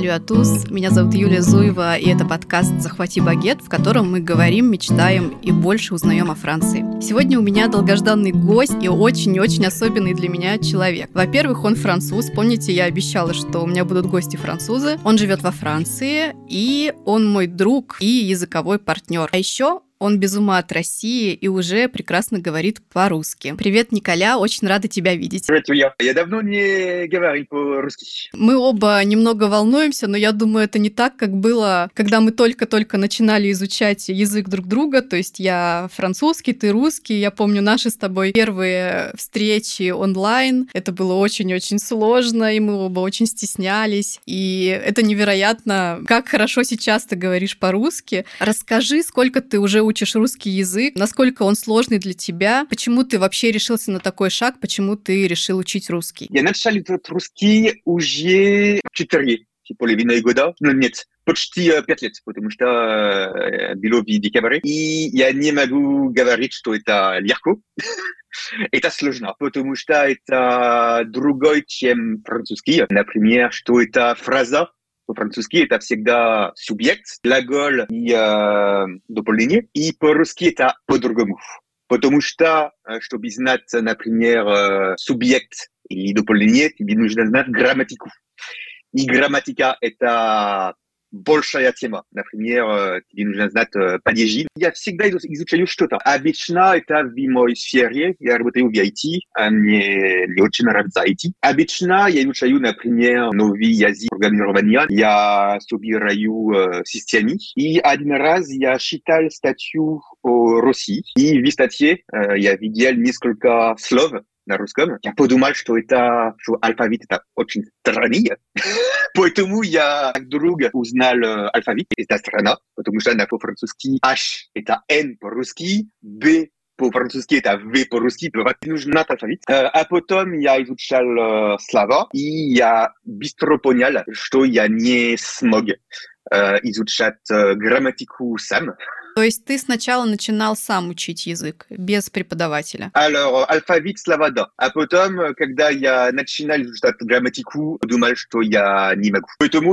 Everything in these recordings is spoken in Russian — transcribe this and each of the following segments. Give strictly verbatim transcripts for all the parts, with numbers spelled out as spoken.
Салю à tous, меня зовут Юлия Зуева, и это подкаст «Захвати багет», в котором мы говорим, мечтаем и больше узнаем о Франции. Сегодня у меня долгожданный гость и очень-очень особенный для меня человек. Во-первых, он француз. Помните, я обещала, что у меня будут гости-французы. Он живет во Франции, и он мой друг и языковой партнер. А еще он без ума от России и уже прекрасно говорит по-русски. Привет, Николя, очень рада тебя видеть. Привет, Юля. Я давно не говорю по-русски. Мы оба немного волнуемся, но я думаю, это не так, как было, когда мы только-только начинали изучать язык друг друга. То есть я французский, ты русский. Я помню наши с тобой первые встречи онлайн. Это было очень-очень сложно, и мы оба очень стеснялись. И это невероятно, как хорошо сейчас ты говоришь по-русски. Расскажи, сколько ты уже учишь русский язык, насколько он сложный для тебя, почему ты вообще решился на такой шаг, почему ты решил учить русский? Я начал учить русский уже четыре половиной года. Ну, нет, почти пять лет, потому что было в декабре. И я не могу говорить, что это легко. Это сложно, потому что это другой, чем французский. Например, что это фраза. По-французски это всегда субъект, глагол и э, дополнение. И по-русски это по-другому. Потому что, чтобы знать, например, субъект или дополнение, тебе нужно знать грамматику. И грамматика это большая тема. Например, тебе нужно знать падежи. Я всегда изучаю что-то. Обычно это в моей сфере. Я работаю в ай ти, а мне не очень нравится ай ти. Обычно я изучаю, например, новый язык программирования. Я собираю системы. И один раз я читал статью о России. И в статье я видел несколько слов на русском. Я подумал, что это, что алфавит это очень странный. Поэтому я вдруг узнал алфавит. Это странно, потому что по-французски H это N по-русски, B по-французски это V по-русски. Нужно алфавит. А потом я изучал слова, и я быстро понял, что я не смог изучать грамматику сам. То есть ты сначала начинал сам учить язык, без преподавателя? Alors, алфавит, слова, да. А потом, когда я начинал изучать грамматику, думал, что я не могу. Поэтому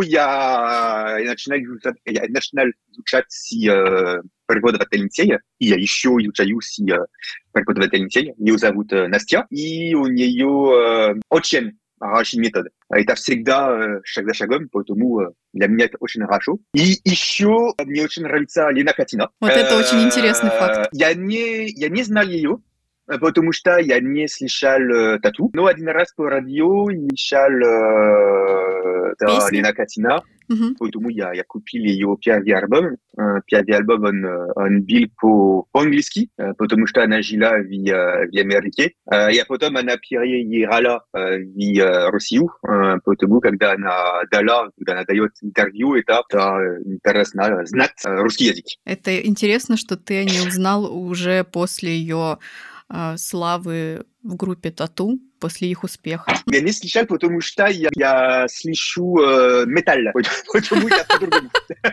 я начинал изучать, я начинал изучать с э, преподавательницей, и я еще изучаю с э, преподавательницей. Ее зовут э, Настя, и у нее э, очень хороший метод. Это всегда шаг за шагом, поэтому для меня это очень хорошо. И еще мне очень нравится Лена Катина. Вот это очень интересный факт. Я не, я не знал ее, потому что я не слышал тату. Но один раз по радио я слышал Лена Катина. Угу. Поэтому я, я купил ее первый альбом. Первый альбом он, он был по, по-английски, потому что она жила в, в Америке. И потом она переехала в Россию, потому когда она дала, когда она дает интервью, это, это интересно знать русский язык. Это интересно, что ты не узнал уже после ее э, славы в группе Тату, после их успеха. Я не слышал, потому что я, я слышу э, металл, потому я по-другому.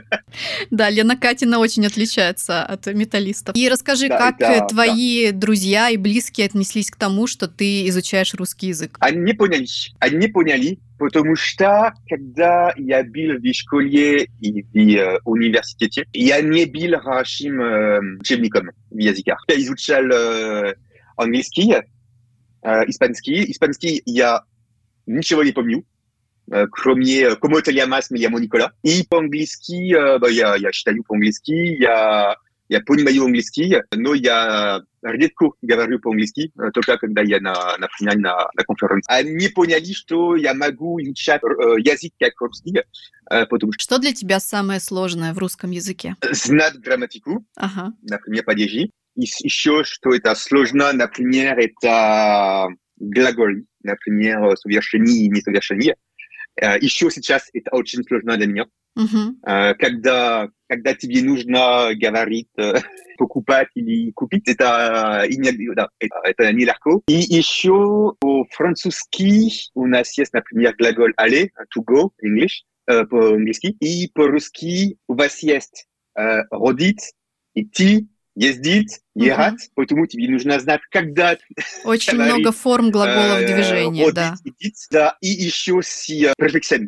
Да, Лена Катина очень отличается от металлистов. И расскажи, да, как да, твои да. друзья и близкие отнеслись к тому, что ты изучаешь русский язык? Они не поняли. Они не поняли, потому что, когда я был в школе и в э, университете, я не был хорошим э, учебником в языках. Я изучал э, английский, э, испанский. Испанский я ничего не помню, э, кроме «Como te llamas, me llamo Nicolas». И по-английски, э, bah, я, я читаю по-английски, я, я понимаю английский, но я редко говорю по-английски, только когда я, на, например, на, на конференции. Они поняли, что я могу изучать э, язык как русский, э, потому что... Что для тебя самое сложное в русском языке? Знать грамматику, ага. например, падежи. И еще, что это сложно, например, это глаголы, например, совершение и несовершение. Еще сейчас это очень сложно для меня. Uh-huh. Когда, когда тебе нужно говорить, покупать или купить, это, это, это нелегко. И еще по-французски у нас есть, например, глагол aller, to go, English, по-английски. И по-русски у вас есть родить, идти, ездить, ехать, uh-huh. Поэтому тебе нужно знать, когда... Очень много форм глаголов движения, родить, да. Идти, да. И еще с префиксами.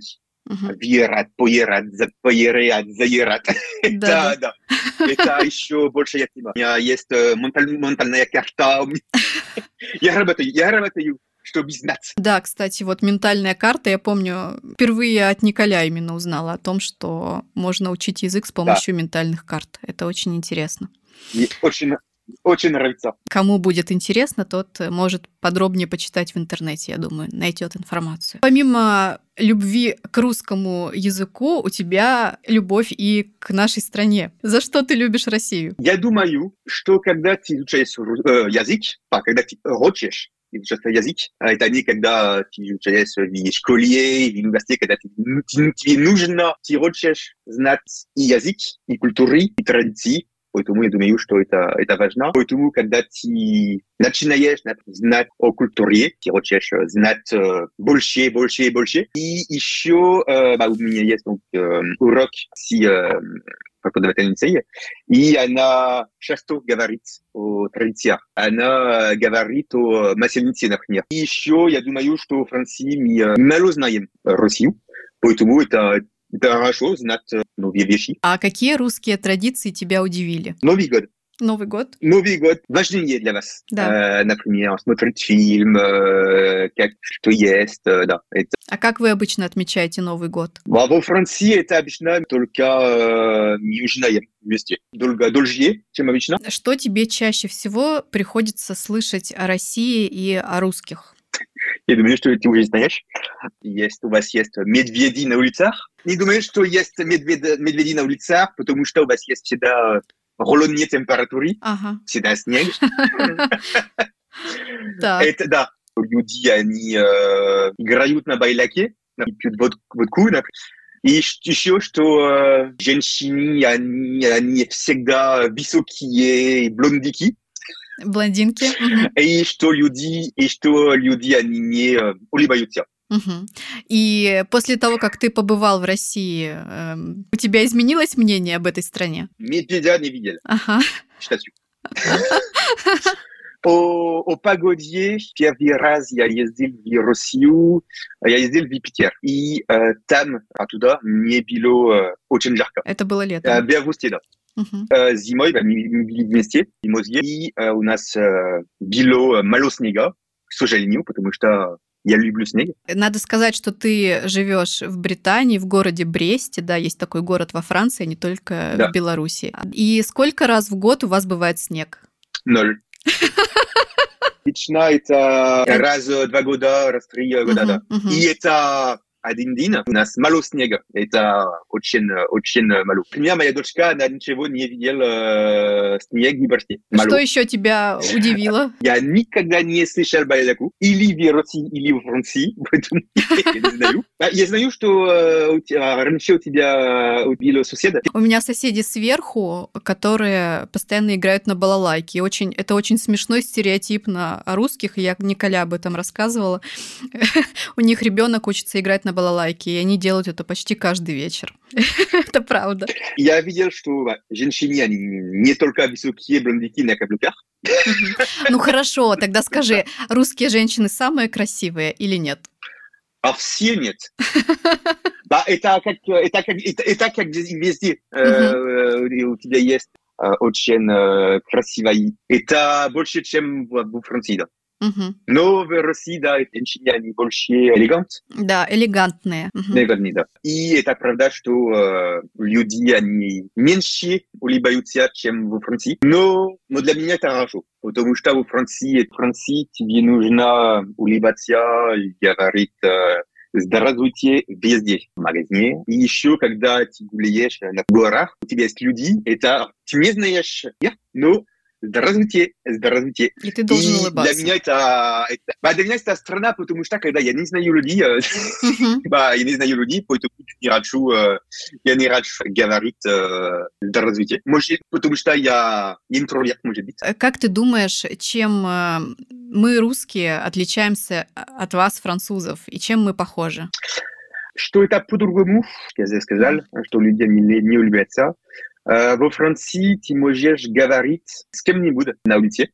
Мгм. Виерат, поерат, поерят, заерат. Да-да. Это, да. Это еще большая тема. У меня есть э, менталь- ментальная карта. У меня- Я работаю, я работаю, чтобы знать. Да, кстати, вот ментальная карта, я помню, впервые от Николя именно узнала о том, что можно учить язык с Да, помощью ментальных карт. Это очень интересно. мне очень, очень нравится. Кому будет интересно, тот э, может подробнее почитать в интернете, я думаю, найдет информацию. Помимо любви к русскому языку, у тебя любовь и к нашей стране. За что ты любишь Россию? Я думаю, что когда ты изучаешь ру- э, язык, а когда ты хочешь изучать язык, а это не когда ты изучаешь в школе, в университете, когда ты, ты- тебе нужно, ты хочешь знать и язык, и культуры, и традиции. Поэтому я думаю, что это, это важно. Поэтому, когда ты начинаешь знать о культуре, ты хочешь знать э, больше, больше, больше. И еще э, bah, у меня есть donc, э, урок с э, преподавательницей, и она часто говорит о традициях. Она говорит о масленице, например. И еще я думаю, что в Франции мы э, мало знаем Россию, поэтому это, это хорошо знать э, новые вещи. А какие русские традиции тебя удивили? Новый год. Новый год? Новый год важнее для вас. Да. Э, например, смотреть фильм, э, как что есть, э, да. Это. А как вы обычно отмечаете Новый год? А во Франции это обычно только э, южное вместе. Долго дольше, чем обычно. Что тебе чаще всего приходится слышать о России и о русских? Я думаю, что ты уже знаешь. Есть, у вас есть медведи на улицах. Не думаю, что есть медведи, медведи на улицах, потому что у вас есть всегда рулонные температуры, Ага. всегда снег. Так. Это, да, люди, они э, играют на байляке, пьют вод- водку, например. И ш- еще, что э, женщины, они, они всегда высокие, блондики. Блондинки. Мгм. И что люди, и что люди, они не э, улыбаются. Мгм. И после того, как ты побывал в России, эм, у тебя изменилось мнение об этой стране? Медведя не видели, Ага. считаю. О, о погоде первый раз я ездил в Россию, я ездил в Питер. И э, там, оттуда, не было э, очень жарко. Это было Э, летом. в августе, да. Мгм. Э, зимой, да, мы, мы были вместе, в зимой, и э, у нас э, было мало снега, к сожалению, потому что я люблю снег. Надо сказать, что ты живешь в Британии, в городе Бресте, да, есть такой город во Франции, не только Да. в Беларуси. И сколько раз в год у вас бывает снег? Ноль. Обычно это раз в два года, раз в три года, да. Мгм, мгм. И это один день. У нас мало снега. Это очень, очень мало. Например, моя дочка, она ничего не видела э, снег в Бресте. Что Мало. еще тебя удивило? Я никогда не слышал байляку. Или в России, или в Франции. Поэтому я не знаю. А я знаю, что э, у тебя- раньше у тебя убили соседа. У меня соседи сверху, которые постоянно играют на балалайке. И очень, это очень смешной стереотип на о русских. и Я Николя об этом рассказывала. У них ребенок учится играть на балалайке, и они делают это почти каждый вечер. Это правда. Я видел, что да, женщины, они не только высокие блондики на каблуках. Мгм. Ну хорошо, тогда скажи, русские женщины самые красивые или нет? А все нет. Да, это как, это как, это, это как везде. Э, Мгм. у тебя есть э, очень э, красивая. Это больше, чем в, в Франции, да. Мгм. Но в России, да, женщины, они больше элегант, Да, элегантные. Мгм. элегантные, да. И это правда, что э, люди, они меньше улыбаются, чем в Франции. Но, но для меня это хорошо. Потому что в Франции, в Франции тебе нужно улыбаться и говорить э, здравствуйте везде, в магазине. И еще, когда ты гуляешь на горах, у тебя есть люди, это ты не знаешь, я, но здравствуйте, здравствуйте. И ты должен И для улыбаться. меня это, это, bah, для меня это страна, потому что когда я не знаю людей, э, Мгм. bah, я не знаю людей, поэтому я не хочу, э, я не хочу говорить э, здравствуйте. Может, потому что я интроверт, может быть. Э, Как ты думаешь, чем э, мы, русские, отличаемся от вас, французов, и чем мы похожи? Что это по-другому, я сказал, что люди не, не улыбаются. Э, во Франции ты можешь говорить с кем-нибудь на улице,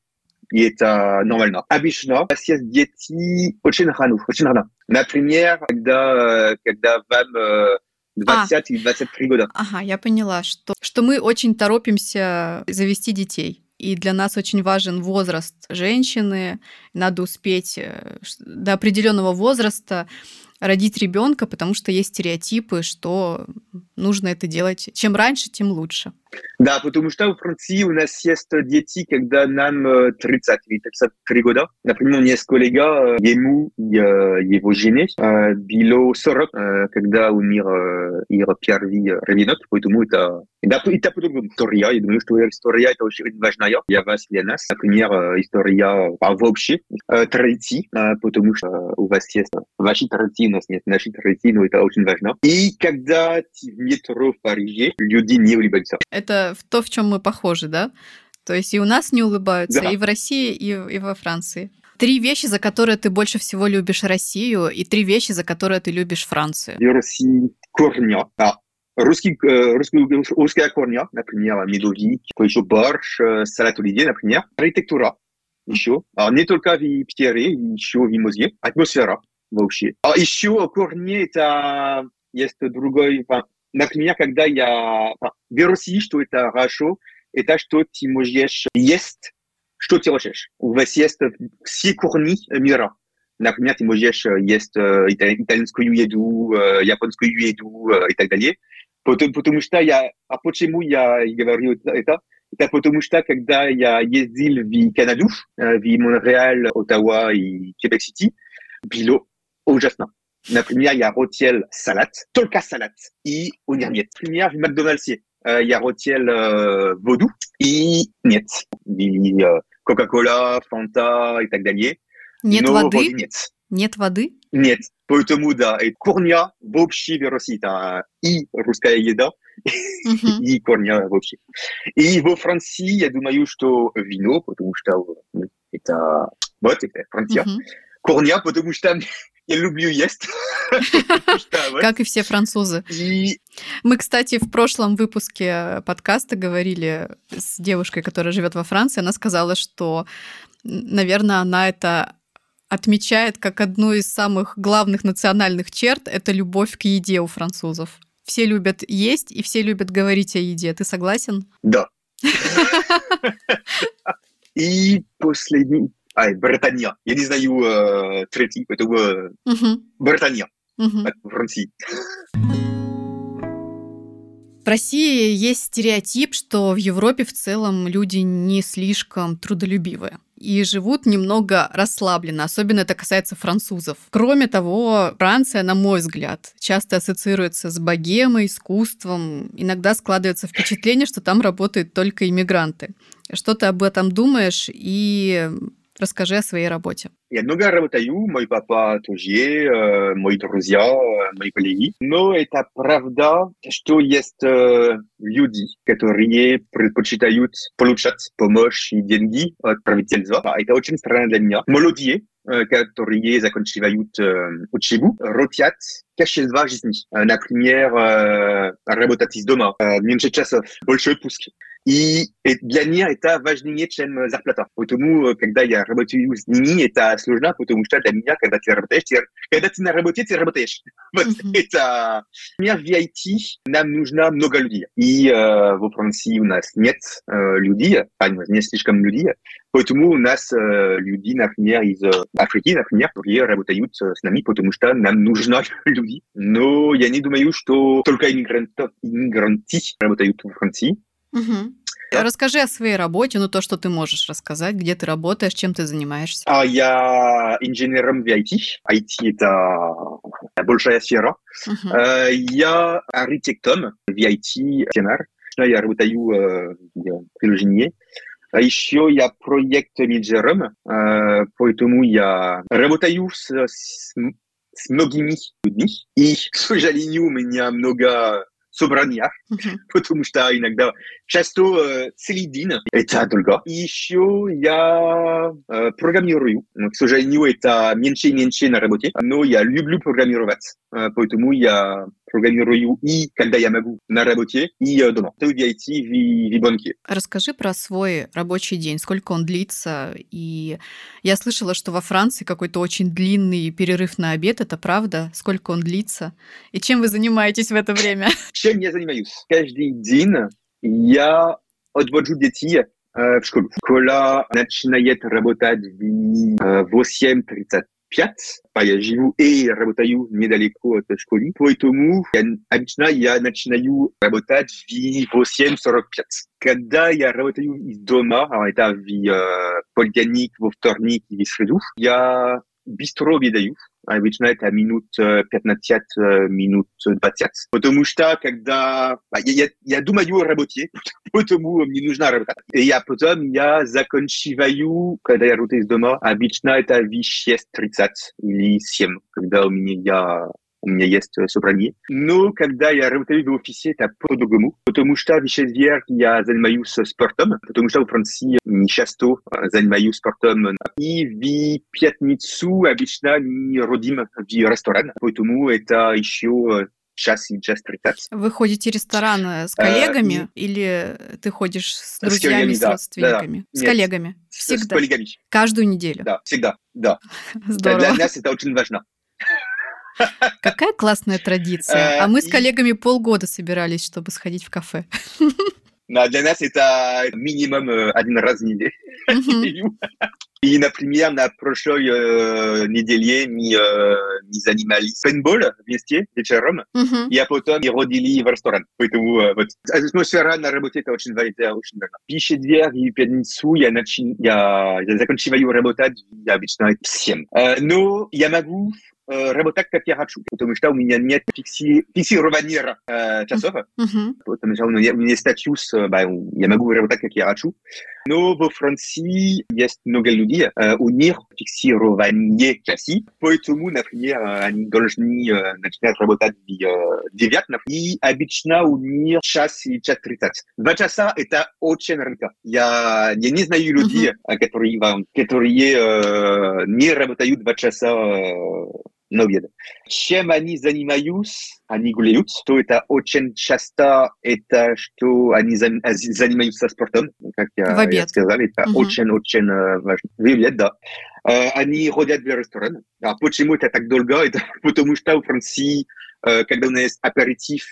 и это нормально. Обычно съесть дети очень рано, очень рано. Например, когда, когда вам двадцать или двадцать три года. Ага, я поняла, что, что мы очень торопимся завести детей. И для нас очень важен возраст женщины. Надо успеть до определенного возраста родить ребенка, потому что есть стереотипы, что нужно это делать. Чем раньше, тем лучше. Да, потому что в Франции у нас есть дети, когда нам тридцать или тридцать три года. Например, у меня есть коллега, ему и его жене было сорок, когда у них их первый ребенок, поэтому это... Да, это по-другому история. Я думаю, что история это очень важная для вас, для нас. Например, история вообще традиции, потому что у вас есть ваши традиции, у нас нет наши традиции, но это очень важно. И когда ты в метро в Париже, люди не улыбаются. Это то, в чем мы похожи, да? То есть и у нас не улыбаются, да. И в России, и, и во Франции. Три вещи, за которые ты больше всего любишь Россию, и три вещи, за которые ты любишь Францию. В России корня. А, русский, русский, русская корня, например, медовик, еще борщ, салат оливье, например. Архитектура еще. А не только в Питере, еще в музее. Атмосфера вообще. А еще корни это есть другой... Например, когда я в России, что это хорошо, это что ты можешь есть, что ты хочешь. У вас есть все корни мира. Например, ты можешь есть итальянскую еду, японскую еду и так далее. Потому, потому что я... А почему я говорю это? Это потому что, когда я ездил в Канаду, в Монреаль, Оттава и Квебек-Сити, было ужасно. Например, я хотел салат, только салат, и у них нет. Например, в Макдональдсе я хотел воду, и нет. И Кока-Кола, Фанта и так далее. Нет Но воды? Нет. Нет воды? Нет. Поэтому, да, и корня вообще в России, это и русская еда, uh-huh. и корня вообще. И во Франции, я думаю, что вино, потому что это, вот, это Франция. Uh-huh. Корня, потому что я люблю есть. Как и все французы. И... Мы, кстати, в прошлом выпуске подкаста говорили с девушкой, которая живет во Франции. Она сказала, что, наверное, она это отмечает как одну из самых главных национальных черт. Это любовь к еде у французов. Все любят есть и все любят говорить о еде. Ты согласен? Да. И последний... А, Британия. Я не знаю э, третий, поэтому э, uh-huh. Британия uh-huh. от Франции. В России есть стереотип, что в Европе в целом люди не слишком трудолюбивые и живут немного расслабленно, особенно это касается французов. Кроме того, Франция, на мой взгляд, часто ассоциируется с богемой, искусством. Иногда складывается впечатление, что там работают только иммигранты. Что ты об этом думаешь и... Расскажи о своей работе. Я много работаю, мой папа тоже, э, мои друзья, э, мои коллеги. Но это правда, что есть э, люди, которые предпочитают получать помощь и деньги от правительства. Это очень странно для меня. Молодые, э, которые заканчивают э, учебу, хотят качества жизни. Например, э, работать из дома, э, меньше часов, больше отпуски. И для них это важнее, чем зарплата. Поэтому, когда я работаю с ними, это сложно, потому что для меня, когда ты работаешь, ты, когда ты на работе, ты работаешь. Вот mm-hmm. это... Например, в ай ти нам нужно много людей. И э, во Франции у нас нет э, людей, а не слишком людей. Поэтому у нас э, люди, например, из Африки, например, которые работают с нами, потому что нам нужны люди. Но я не думаю, что только иммигранты, иммигранты работают во Франции. Угу. Да. Расскажи о своей работе, ну то, что ты можешь рассказать, где ты работаешь, чем ты занимаешься. А я инженером в ай ти. ай ти это большая сфера. Uh-huh. Uh, я архитектор в ай ти. Я работаю в приложении. А еще я проект-менеджером, uh, поэтому я работаю с, с, с многими людьми. И, к сожалению, у меня много собраниях, uh-huh. потому что иногда часто э, целый день это долго. И еще я э, программирую. К сожалению, это меньше и меньше на работе, но я люблю программировать. Э, поэтому я программирую и когда я могу на работе, и э, дома. В ай ти, в, в банке. Расскажи про свой рабочий день, сколько он длится. И я слышала, что во Франции какой-то очень длинный перерыв на обед. Это правда? Сколько он длится? И чем вы занимаетесь в это время? Чем я занимаюсь? Каждый день я отвожу детей э, в школу. Школа начинает работать в восемь тридцать пять. Я живу и работаю недалеко от школы. Поэтому я, обычно я начинаю работать в восемь сорок пять. Когда я работаю из дома, это в э, понедельник, во вторник и в среду, я быстро обедаю. Обычно это минут пятнадцать, минут двадцать. Потому что когда... Я, я, я думаю о работе, потому мне нужно работать. И я потом я заканчиваю, когда я работаю из дома, обычно это в шесть тридцать или семь, когда у меня, я, у меня есть собрание. Но когда я работаю в офисе, это по-другому. Потому что в четверг я занимаюсь спортом, потому что в Франции не часто занимаюсь спортом. И в пятницу обычно мы родим в ресторан, поэтому это еще час и час тридцать. Вы ходите в ресторан с коллегами а, и... или ты ходишь с друзьями, с, коллегами, с родственниками? Да, да. С Нет, коллегами? Всегда? С коллегами. Каждую неделю? Да, всегда, да. Здорово. Для нас это очень важно. Какая классная традиция. А мы с коллегами полгода собирались, чтобы сходить в кафе. Для нас это минимум один раз в неделю. И, например, на прошлой э, неделе мы, э, мы занимались пейнтбол вместе вечером, uh-huh. и а потом мы родили в ресторан. Поэтому э, вот, атмосфера на работе это очень важно. В четверг и пятницу я, начин... я, я заканчиваю работать обычно в семь. Э, но я могу э, работать как я хочу, потому что у меня нет фикси... фиксирования э, часов. Uh-huh. Потому что у меня, у меня статус, э, bah, я могу работать как я хочу. Но во Франции есть много людей, э, у них фиксирование часов, поэтому, например, они должны э, начинать работать в э, девять, и обычно у них час и час тридцать. Два часа это очень редко. Я, я не знаю людей, uh-huh. которые, которые э, не работают два часа э, на обед. Чем они занимаются? Они гуляют, то это очень часто, это что они занимаются спортом, как я, я сказал, это uh-huh. очень-очень важно. В обед, да. Они ходят в ресторан. А почему это так долго? Это потому что в Франции, когда у нас есть аперитив,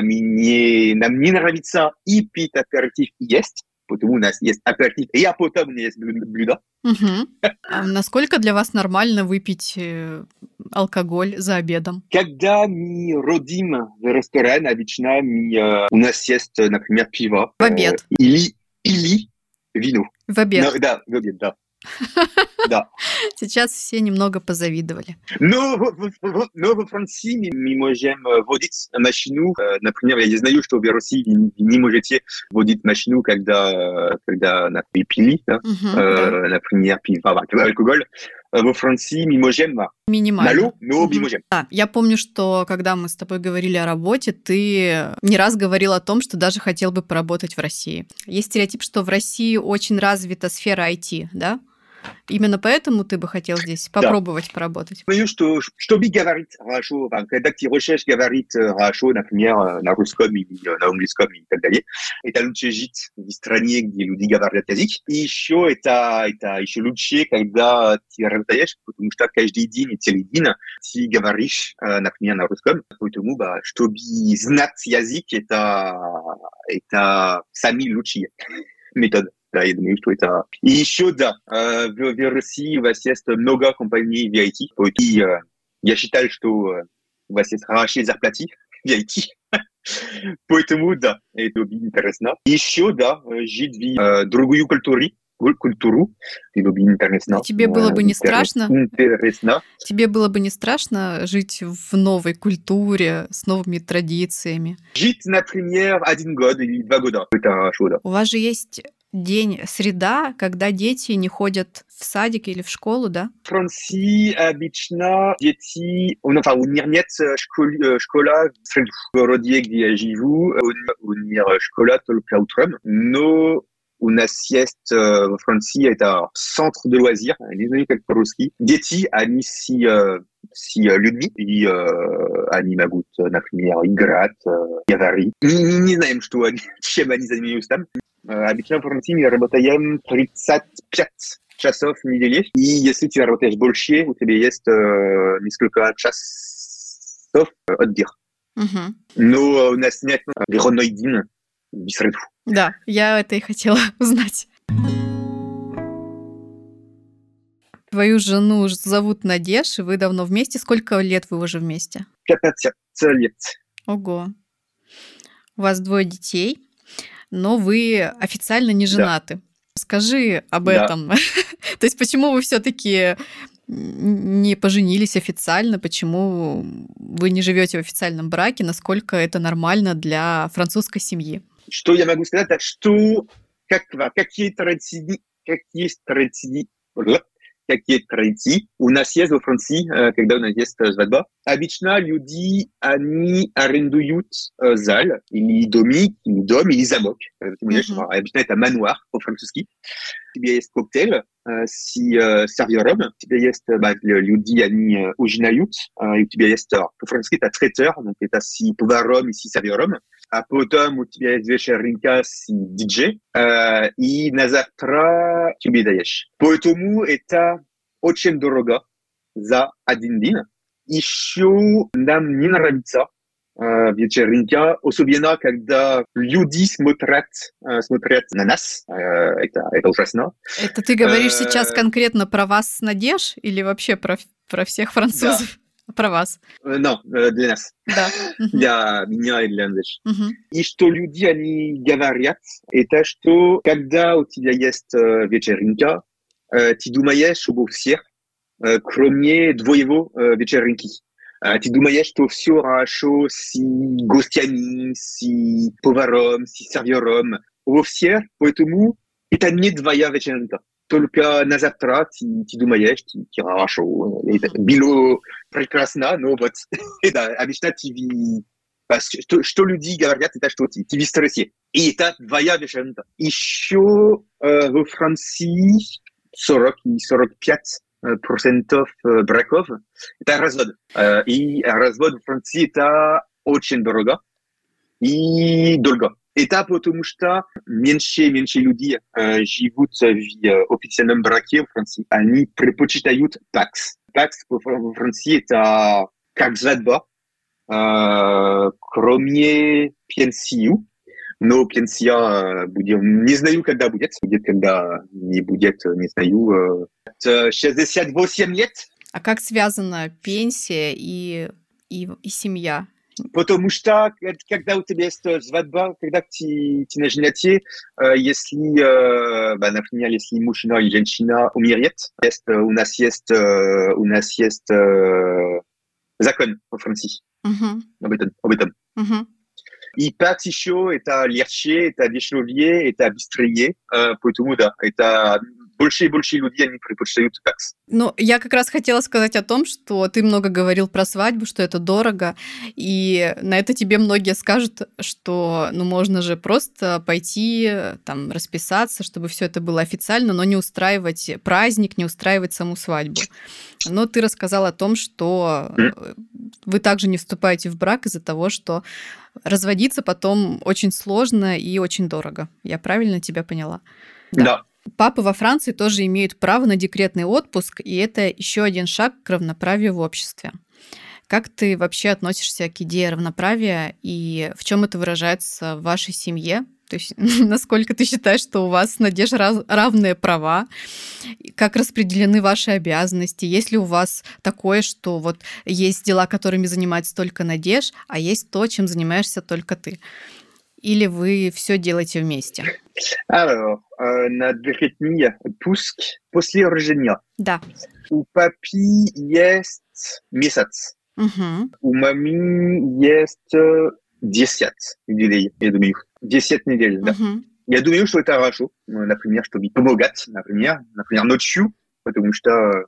мне, нам не нравится и пить аперитив и есть. Потому у нас есть аперитив, и а потом у нас есть блюдо. Угу. А насколько для вас нормально выпить алкоголь за обедом? Когда мы родим в ресторане, обычно мы, у нас есть, например, пиво. В обед. Э, или, или вино. В обед. Но, да, в обед, да. Да. Сейчас все немного позавидовали. Но, но во Франции мы, мы можем водить машину. Например, я не знаю, что в России вы не можете водить машину, когда, когда например, пили, да? uh-huh, э, да. Например, пиво, алкоголь. Во Франции мы можем минимально. Мало, но мы можем. Да, я помню, что когда мы с тобой говорили о работе, ты не раз говорил о том, что даже хотел бы поработать в России. Есть стереотип, что в России очень развита сфера ай ти, да? Именно поэтому ты бы хотел здесь попробовать да. поработать? Думаю, что, чтобы говорить хорошо, когда ты хочешь говорить хорошо, например, на русском или на английском и так далее, это лучше жить в стране, где люди говорят язык. И еще это, это еще лучше, когда ты работаешь, потому что каждый день, целый день, ты говоришь, например, на русском. Поэтому, чтобы знать язык, это, это самый лучший метод. Да, я думаю, что это... И еще, да, в, в России у вас есть много компаний в ай ти. И я считаю, что у вас есть хорошие зарплаты в ай ти. Поэтому, да, это интересно. Еще, да, жить в другую культуру. культуру. Это интересно. А тебе было бы не страшно? Интересно. Тебе было бы не страшно жить в новой культуре, с новыми традициями? Жить, например, один год или два года. Это хорошо, да. У вас же есть день среда, когда дети не ходят в садик или в школу, да? В Франции обычно дети... Enfin, у них нет школы, школа в среду. В городе, где я живу, у них школа только утром. Но У нас есть э, во Франции это центр de loisirs, не знаю как по-русски. Дети, они си, э, си э, людьми, и э, они могут, э, например, играть, э, говорить. Не, не, не знаем, что они, чем они занимаются там. Э, обычно в Франции мы работаем тридцать пять часов в неделю, и если ты работаешь больше, у тебя есть э, несколько часов отдых. Мгм. Но у нас нет выходной день в среду. Да, я это и хотела узнать. Твою жену ж- зовут Надеж, и вы давно вместе. Сколько лет вы уже вместе? пятнадцать лет. Ого. У вас двое детей, но вы официально не Да, женаты. Скажи об да. этом. То есть почему вы все-таки не поженились официально, почему вы не живете в официальном браке, насколько это нормально для французской семьи? Что я могу сказать, так что как, какие традиции, какие традиции, какие традиции у нас есть во Франции, э, когда у нас есть э, свадьба. Обычно люди, они арендуют э, зал, или домик, или дом, или замок. Э, ты понимаешь, Мгм. обычно это мануар по-французски. У тебя есть коктейль э, с э, сервером, у тебя есть э, bah, le- люди, они э, ужинают, э, и у тебя есть, э, по-французски, это трайтер, donc это с поваром и с сервером. А потом у тебя есть вечеринка с диджей, э, и на завтра тебе даешь. Поэтому это очень дорого за один день. Еще нам не нравится э, вечеринка, особенно когда люди смотрят, э, смотрят на нас. Э, это, это ужасно. Это ты говоришь сейчас Э, конкретно про вас с Надеж или вообще про, про всех да, французов? Про вас. Э, non, э, для нас, Да. Мгм. для меня и для Андрея. Мгм. И что люди, они говорят, это что, когда у тебя есть э, вечеринка, э, ты думаешь обо всех, э, кроме твоего э, вечеринки. Э, ты думаешь, что все хорошо с гостями, с поваром, с сервером, обо всех, поэтому это не твоя вечеринка. Только на завтра ты, ты думаешь, ты, ты хорошо, это Мгм. было прекрасно, но вот, да, обычно ты ви- parce que что, что люди говорят, это что ты, ты в стрессе. И это твоя вечеринка. Еще э, во Франции сорок и сорок пять э, процентов э, браков это развод. Э, и развод в Франции это очень дорого и долго. Это потому что меньше меньше людей э, живут в э, официальном браке в Франции. Они предпочитают пакс. Пакс во Фран- во Франции это как свадьба, э, кроме пенсии. Но пенсия э, будет, не знаю, когда будет. Будет, когда не будет, не знаю. э, это шестьдесят восемь лет. А как связана пенсия и, и, и семья? Потому что к- когда у тебя есть э, свадьба, когда ты, ты на женате, э, если, э, bah, например, если мужчина или женщина умирает, есть, э, у нас есть, э, у нас есть э, закон во Франции Мгм. об этом. Об этом. Мгм. И пакс еще это легче, это дешевле, это быстрее, э, поэтому да, это больше и больше людей, они предпочитают пакс. Ну, я как раз хотела сказать о том, что ты много говорил про свадьбу, что это дорого, и на это тебе многие скажут, что ну можно же просто пойти, там, расписаться, чтобы все это было официально, но не устраивать праздник, не устраивать саму свадьбу. Но ты рассказал о том, что М, э, вы также не вступаете в брак из-за того, что разводиться потом очень сложно и очень дорого. Я правильно тебя поняла? Да. Да. Папы во Франции тоже имеют право на декретный отпуск, и это еще один шаг к равноправию в обществе. Как ты вообще относишься к идее равноправия и в чем это выражается в вашей семье? То есть насколько ты считаешь, что у вас, Надежда, раз- равные права? И как распределены ваши обязанности? Есть ли у вас такое, что вот есть дела, которыми занимается только Надеж, а есть то, чем занимаешься только ты? Или вы все делаете вместе? Alors, э, на декретный отпуск после рождения. Да. У папи есть месяц. Мгм. У мамы есть э, десять недель, я думаю. десять недель, да. Мгм. Я думаю, что это хорошо. Ну, например, чтобы помогать, например, например, ночью, потому что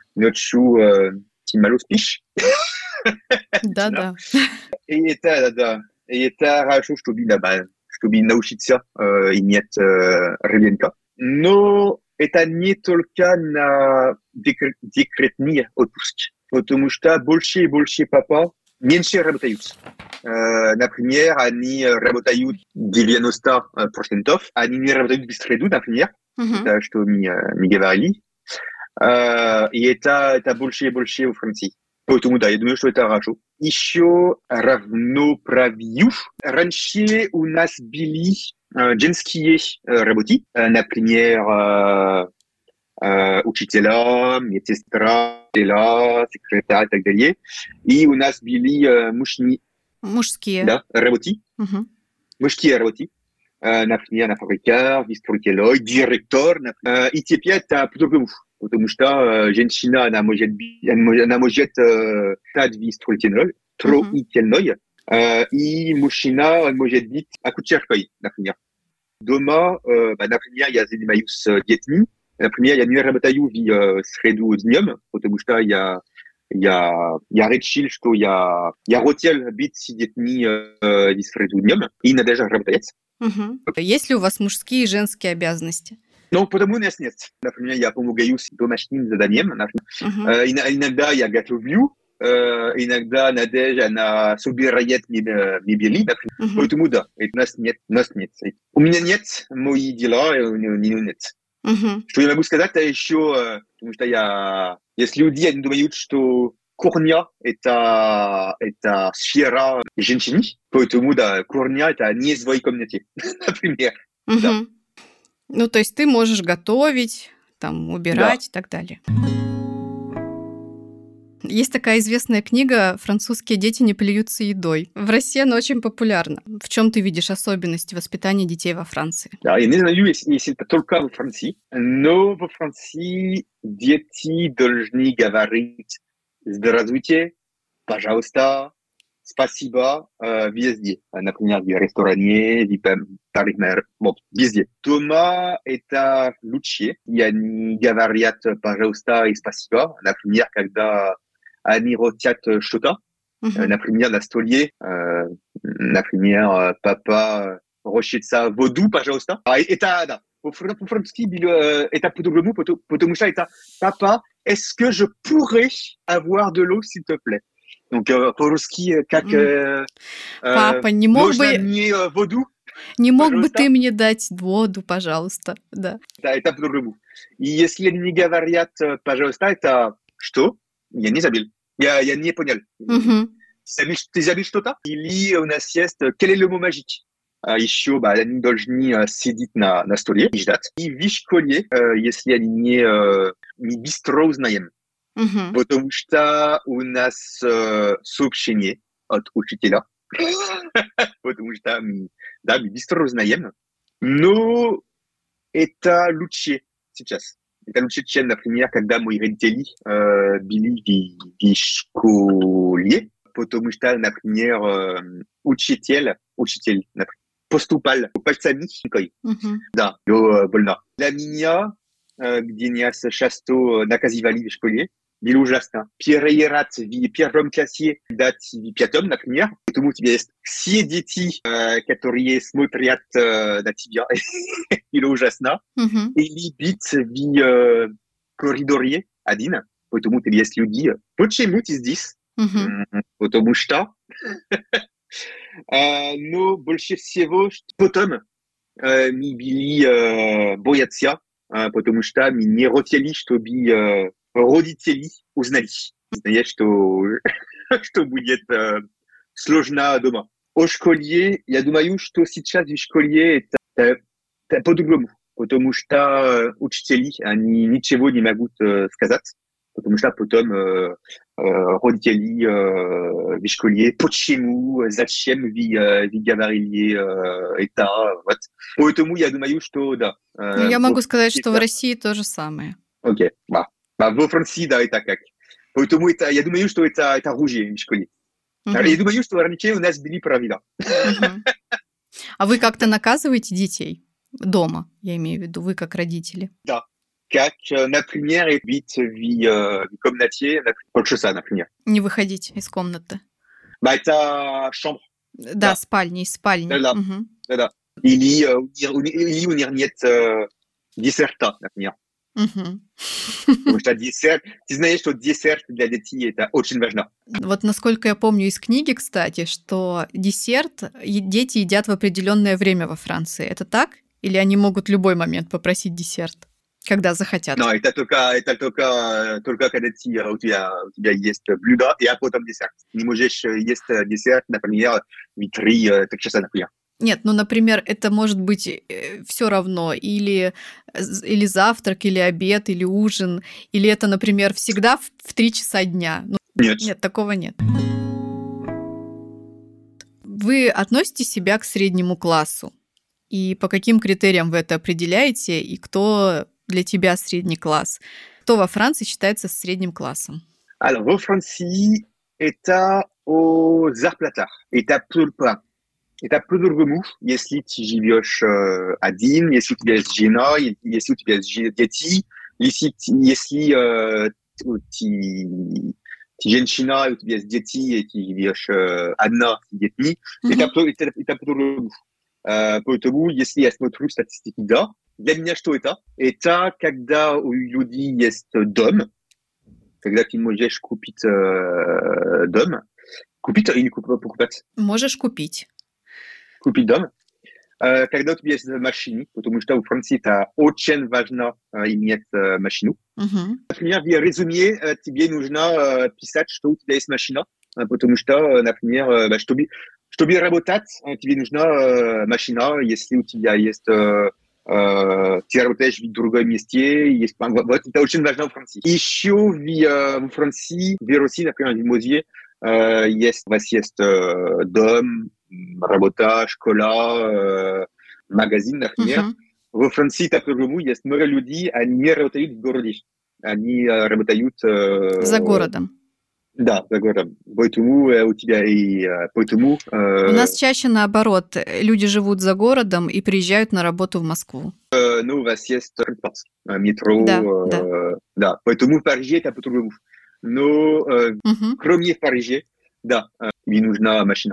ночью э, ты мало спишь. Да-да. И это, да, да. И это хорошо, чтобы, да, bah, чтобы научиться э, иметь э, ребенка. Но это не только на декр- декретный отпуск, потому что больше и больше папа меньше работают. Э, например, они работают девяносто процентов, они не работают в среду, например, Мгм. это что мы, э, мы говорили. Э, и это, это больше и больше во Франции. Поэтому, да, я думаю, что это хорошо. Еще равноправию. Раньше у нас были э, женские э, работы, э, например, э, э, учителя, медсестра, учителя, секретарь и так далее. И у нас были э, мужские, Мужские. да, работы, Мгм. мужские работы. Э, например, на фабриках, вице-строитель, директор. Э, и теперь это по-другому. Потому что э, женщина, она может, би- она может, она может э, стать вице-строителем, строительной, э, и мужчина, он может быть акушеркой, например. Дома, э, bah, например, я занимаюсь э, детьми. Например, я не работаю в э, среду днем, потому что я, я, я решил, что я, я хотел быть с детьми э, в среду днем, и надо же работать. Мгм. Есть ли у вас мужские и женские обязанности? Ну, потому у нас нет. Например, я помогаю с домашним заданием. Например. Мгм. Э, ин- иногда я готовлю, э, иногда Надежда, она собирает меб- мебели, например. Мгм. Поэтому да, и у нас нет, у нас нет. У меня нет мои дела, и у нее нет. Мгм. Что я могу сказать, это еще, э, потому что я, если люди они думают, что кухня это, это сфера женщин, поэтому да, кухня это не в своей комнате, например. Да, Мгм. Ну, то есть ты можешь готовить, там, да. убирать и так далее. Есть такая известная книга «Французские дети не плюются едой». В России она очень популярна. В чем ты видишь особенности воспитания детей во Франции? Да, я не знаю, если, если это только во Франции, но во Франции дети должны говорить «здравствуйте», «пожалуйста», «спасибо» э, везде. Например, в ресторане, в пар- парикмахер, вот, везде. Дома это лучше, и они говорят «пожалуйста» и «спасибо». Например, когда они хотят что-то, э, Мгм. например, на столе, э, например, э, папа хочется воду, пожалуйста. А это, да, по-фран- по-французски было, э, это по-другому, пото- потому что это «папа, est-ce que je pourrais avoir de l'eau, s'il te plaît?» Donc, э, по-русски, э, как М. э, э, Папа, не мог «можно бы, мне э, воду, не мог бы ты пожалуйста?» мне дать воду, пожалуйста? Да. Да, это по-другому. И если они не говорят э, «пожалуйста», это «что?» Я не забыл. Я, я не понял. Мгм. Забыл, ты забыл что-то? Или у нас есть э, «quel est le mot magique?» А еще bah, они должны э, сидеть на, на столе и ждать. И в школе, э, если они не, э, не быстро узнаем, Мгм. потому что у нас э, сообщение от учителя, потому что мы, да, мы быстро узнаем. Но это лучше сейчас. Это лучше, чем, например, когда мои родители э, были в, в школе, потому что, например, э, учитель, учитель, например, поступал пальцами. Мгм. Да, было больно. Для меня, э, где нас часто наказывали в школе, было ужасно. Первый раз в первом классе, дать в пятом, например, потому у тебя есть все дети, э, которые смотрят э, на тебя. Было ужасно. Мгм. Или быть в э, коридоре один, потому у тебя есть люди. Почему ты здесь? Мгм. М, Потому что. Э, Но больше всего, что потом э, мы были э, боятся, э, потому что мы не хотели, чтобы э, родители узнали. Знаешь, что, что будет э, сложно дома. О школе, я думаю, что сейчас в школе это, это, это по-другому, потому что э, учители, они ничего не могут э, сказать, потому что потом э, э, родители э, в школе, почему, зачем вы, э, вы говорили э, это, вот. Поэтому я думаю, что да. Ну, Э, я во могу сказать, Франции что в это- России то же самое. Окей, ба. Ба, во Франции, да, это как. Поэтому это, я думаю, что это, это оружие в школе. Я Мгм. думаю, что раньше у нас были правила. Мгм. А вы как-то наказываете детей дома, я имею в виду, вы как родители? Да. Как, э, например, быть в, э, в комнате, например, полчаса, например. Не выходить из комнаты? Bah, это chambre, Да, да, спальни, из спальни. да, да, Мгм. да, да. Или, э, у ни- или у них нет э, десерта, например. Мгм. Потому что десерт, ты знаешь, что десерт для детей это очень важно. Вот насколько я помню из книги, кстати, что десерт е- дети едят в определенное время во Франции. Это так? Или они могут в любой момент попросить десерт, когда захотят? Non, это только, это только, э, только когда ты, э, у тебя, у тебя есть блюдо, и а потом десерт. Не можешь э, есть э, десерт, например, в три э, три часа, например. Нет, ну, например, это может быть все равно, или, з- или завтрак, или обед, или ужин, или это, например, всегда в, в три часа дня. Ну, Нет. нет, такого нет. Вы относите себя к среднему классу? И по каким критериям вы это определяете? И кто для тебя средний класс? Кто во Франции считается средним классом? Alors, во Франции, это о зарплатах. Это только, это по-другому, если ты живешь э, один, если у тебя есть жена, и- если у тебя есть же- дети, если, ты- если э, ты, ты женщина, и у тебя есть дети, и ты живешь э, одна с детьми, это, Мгм. по- это, это по-другому. Э, Поэтому, если я смотрю статистики, да, для меня что это? Это когда у людей есть дом, когда ты можешь купить э, дом, купить или куп- покупать, Можешь купить. купить дом, э, когда у тебя есть машина, потому что в Франции это очень важно э, иметь э, машину. Мгм. Например, в резюме э, тебе нужно э, писать, что у тебя есть машина, э, потому что, э, например, э, bah, чтобы, чтобы работать, э, тебе нужна э, машина, если у тебя есть э, э, ты работаешь в другом месте, есть, вот, вот это очень важно в Франции. Еще в, э, в Франции, в России, например, в Лимузье, э, есть, у вас есть э, дом, работа, школа, э, магазин, например. Мгм. Во Франции, так по-другому, есть много людей, они не работают в городе. Они э, работают... За э, городом. да, за городом. Поэтому э, у тебя и... э, Поэтому... У э, нас чаще наоборот. э, Люди живут за городом и приезжают на работу в Москву. э, ну, у вас есть транспорт, э, Да, метро, да. э, да. Поэтому в Париже это по-другому. Но э, Мгм. кроме в Париже, да, э, тебе нужна машина.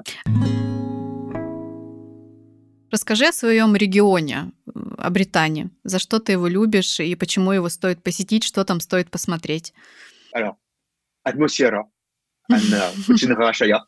Расскажи о своем регионе, э, о Британии. За что ты его любишь и почему его стоит посетить, что там стоит посмотреть? Alors, атмосфера, она очень хорошая.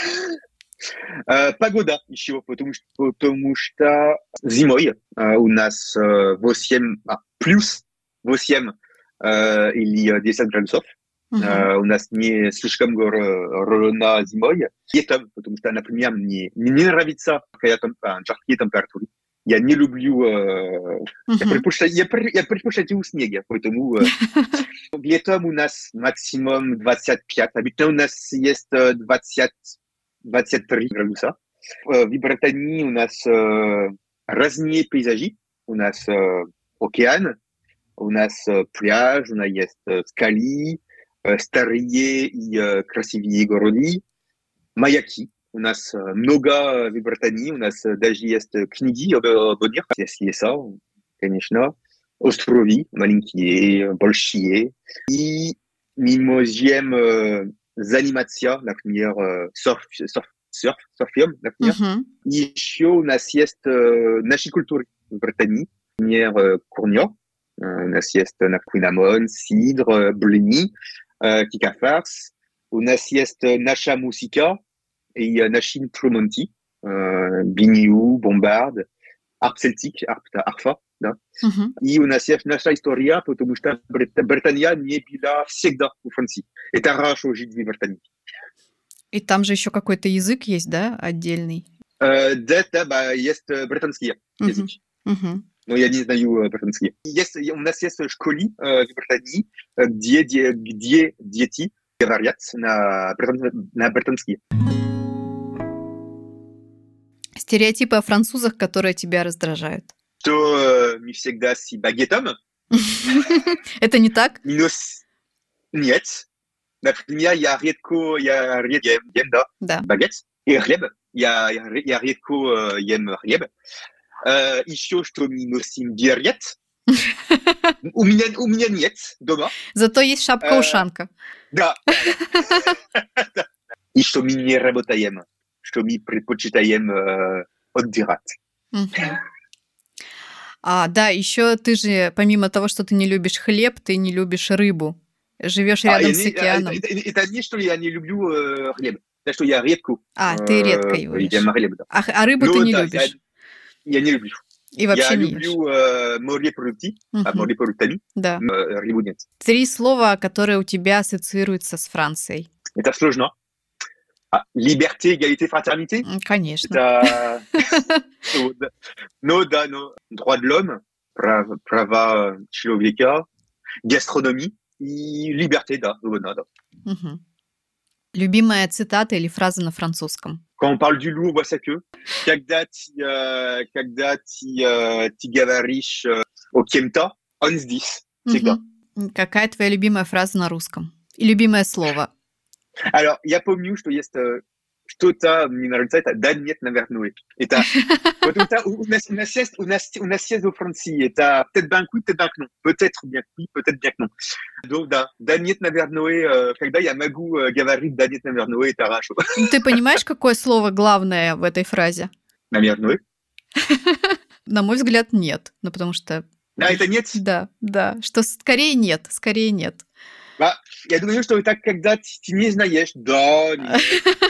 Э, Погода еще, потому что, потому что зимой э, у нас э, восемь, а, плюс восемь э, или десять градусов. Мгм. Э, у нас не слишком рано зимой. Летом, потому что, например, мне, мне не нравится какая там а, жаркие температуры. Я не люблю... э, я Мгм. предпочитаю, я, пр- я предпочитаю снег, поэтому э, летом у нас максимум двадцать пять. Обычно у нас есть э, двадцать, двадцать три градуса. Э, В Британии у нас э, разные пейзажи. У нас э, океан, у нас э, пляж, у нас есть э, скалы, э, старые и э, красивые города, маяки. У нас э, много в Британии, у нас э, даже есть э, книги об, об них, есть леса, конечно, островы маленькие, большие. И мы можем э, заниматься, например, э, серф, серф, серф, серфем, например. Мгм. И еще у нас есть э, наша культура в Британии, например, э, курня. Э, у нас есть э, например, сидр, э, блини, э, кикафарс. У нас есть э, наша музыка и э, наши инструменты, э, бинью, бомбард, арп celtique, арп, арфа, да. Мгм. И у нас есть наша история, потому что Брит- Британия не была всегда в Франции. Это хорошо жить в Британии. И там же еще какой-то язык есть, да, отдельный? Э, да, да, bah, есть э, британский язык. Мгм. Мгм. Но я не знаю э, британский. Есть, у нас есть школы э, в Британии, э, где, где, где дети говорят на, британ- на британский. Стереотипы о французах, которые тебя раздражают. Что э, мы всегда с багетом, Это не так? минус нет. Например, я редко, я редко ем, ем, да, Да. багет и хлеб. Я, я, ре- я редко э, ем хлеб. Э, еще что мы носим берет. У меня, у меня нет дома. Зато есть Э, шапка-ушанка. да, да, да. И что мы не работаем, что мы предпочитаем э, отдыхать. Мгм. А, да, еще ты же, помимо того, что ты не любишь хлеб, ты не любишь рыбу. Живешь А, рядом я с не, а, это, океаном. это, это не, что я не люблю э, хлеб. Это что я редко А, ты редко э, его ем ешь. хлеб, да. А, х- а рыбу ты Но не да, я, любишь. я не люблю. И Я вообще не ешь. люблю э, морепродукты, а Мгм. морепродуктами, Да. э, рыбу нет. Три слова, которые у тебя ассоциируются с Францией. Это сложно. А, liberté, égalité, fraternité. М, Конечно. Это... Ну, да, ну, да, ну. Droit de l'homme, прав- права человека, gastronomie и liberté, да, свобода, да. Мгм. Любимая цитата или фраза на французском? Quand on parle du loup, on voit ça que когда ты, э, когда ты, э, ты говоришь э, о кем-то, он здесь всегда. Мгм. М, Какая твоя любимая фраза на русском? И любимое слово? Alors, я помню, что есть э, что-то, мне нравится это, да нет, наверное. Это, вот это, у, у нас, у нас есть, у нас, у нас есть во Франции, это peut-être bien que oui, peut-être bien que non. Peut-être bien que oui, peut-être bien que non. Donc, да, да нет, наверное, э, когда я могу э, говорить да нет, наверное, это хорошо. Ну, Ты понимаешь, какое слово главное в этой фразе? Наверное. На мой взгляд, нет. Ну, потому что... А это нет? Да, да. Что скорее нет, скорее нет. А, я думаю, что это когда ты, ты не знаешь, да, нет.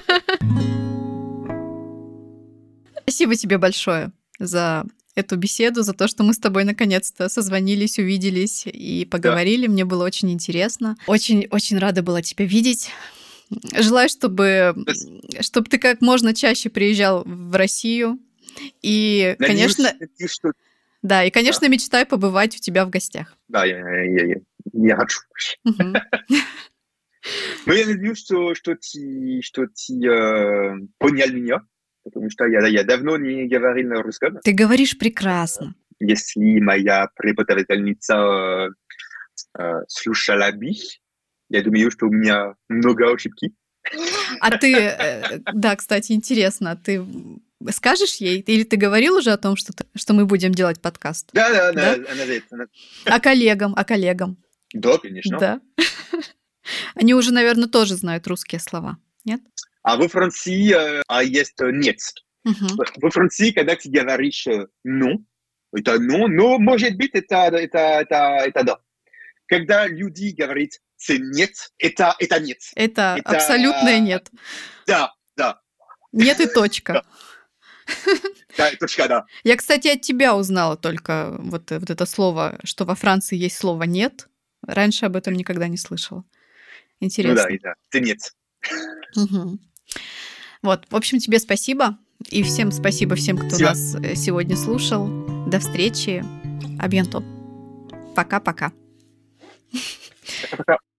Спасибо тебе большое за эту беседу, за то, что мы с тобой наконец-то созвонились, увиделись и поговорили. Мне было очень интересно. Очень-очень рада была тебя видеть. Желаю, чтобы, чтобы ты как можно чаще приезжал в Россию. И, Надеюсь, конечно, надеюсь, что... да, и, конечно, мечтаю побывать у тебя в гостях. Да, я, я, я, я хочу. Мгм. Но я надеюсь, что, что ты, что ты э, понял меня, потому что я, я давно не говорил на русском. Ты говоришь прекрасно. Если моя преподавательница э, э, слушала бы, я думаю, что у меня много ошибки. А ты, э, да, кстати, интересно, ты скажешь ей, или ты говорил уже о том, что, ты- что мы будем делать подкаст? Да, да, Да? она, она знает. Она... А коллегам, а коллегам? Да, конечно. Да. Они уже, наверное, тоже знают русские слова, нет? А во Франции э, а есть э, нет. Мгм. Во Франции, когда ты говоришь э, non, это non, но может быть это, это, это, это да. Когда люди говорят c'est нет, это, это нет. Это Это- абсолютное нет. Да, да, Нет и точка. да, точка, да. Я, кстати, от тебя узнала только вот, э, вот это слово, что во Франции есть слово «нет». Раньше об этом никогда не слышала. Ну Интересно. да, это, c'est нет. Мгм. Вот, в общем, тебе спасибо. И всем спасибо всем, кто Спасибо. нас э, сегодня слушал. До встречи. А bientôt. Пока-пока. Пока.